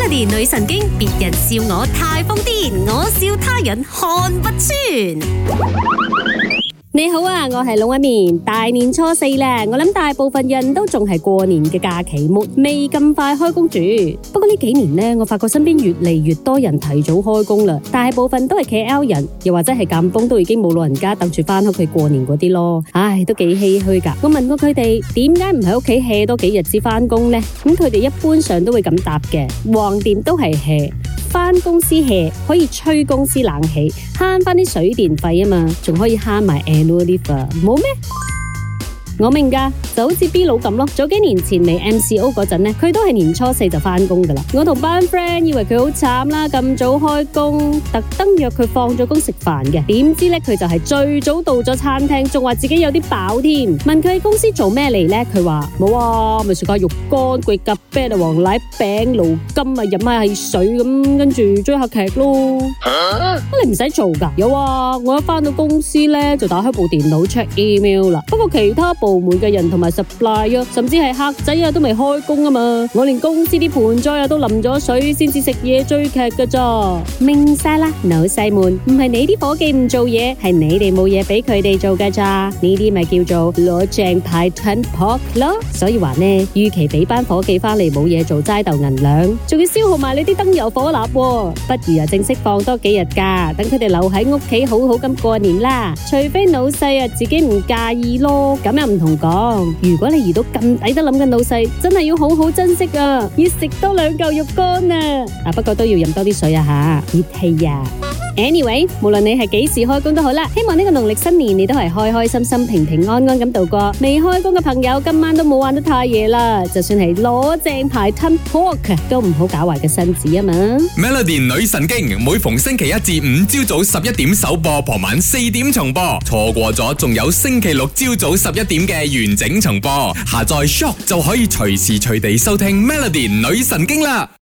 Melody 女神經，別人笑我太瘋癲，我笑他人看不穿。 你好啊，我係龍紋敏。大年初四啦，我諗大部分人都仲係過年嘅假期末，未咁快開工住。不過呢幾年呢，我發覺身邊越嚟越多人提早開工啦，大部分都係 KL 人，又或者係間崩都已經冇老人家等住翻屋企過年嗰啲咯。唉，都幾唏噓噶。我問過佢哋點解唔喺屋企 hea 多幾日至翻工呢？咁佢哋一般上都會咁答嘅，橫掂都係 hea。返公司 hea 可以吹公司冷氣，慳返啲水電費啊嘛，仲可以慳埋 annual leave 啊，冇咩？我明㗎，就好似 B 佬咁咯。早幾年前未 MCO 嗰陣呢，佢都係年初四就返工㗎啦。我同班 friend 以為佢好慘啦，咁早開工，特登約佢放咗工食飯嘅。點知呢，佢就係最早到咗餐廳，仲話自己有啲飽添。問佢喺公司做咩嚟呢？佢話冇啊，咪食下肉乾、貴咖啡啊、黃奶餅、驢金啊，飲下汽水咁，跟住追下劇咯。你唔使做㗎？有啊，我一返到公司呢，就打開部電腦 check email 啦。不過其他部門嘅人同埋 supply 啊，甚至係客仔啊，都未開工啊嘛。我連公司啲盆栽啊都淋咗水，先至食嘢追劇噶咋。明晒啦，老細們，唔係你啲伙計唔做嘢，係你哋冇嘢俾佢哋做噶咋。呢啲咪叫做攞正牌吞撲咯。所以話呢，與其俾班伙計翻嚟冇嘢做齋鬥銀兩，仲要消耗埋你啲燈油火蠟，不如正式放多幾日假，等佢哋留喺屋企好好咁過年啦。除非老細啊自己唔介意咯，咁又唔同講。如果你遇到咁抵得諗嘅老細，真係要好好珍惜啊！要食多2嚿肉乾啊！不過都要飲多啲水啊吓，熱氣啊！Anyway， 無論你係幾時開工都好啦，希望呢個農曆新年你都係開開心心、平平安安咁度過。未開工嘅朋友，今晚都冇玩得太夜啦，就算係攞正牌吞 pork 都唔好搞壞個身子啊嘛。 Melody 女神經每逢星期一至五朝早11點首播，傍晚4點重播，錯過咗仲有星期六朝早11點嘅完整重播。下載 Shock 就可以隨時隨地收聽 Melody 女神經啦。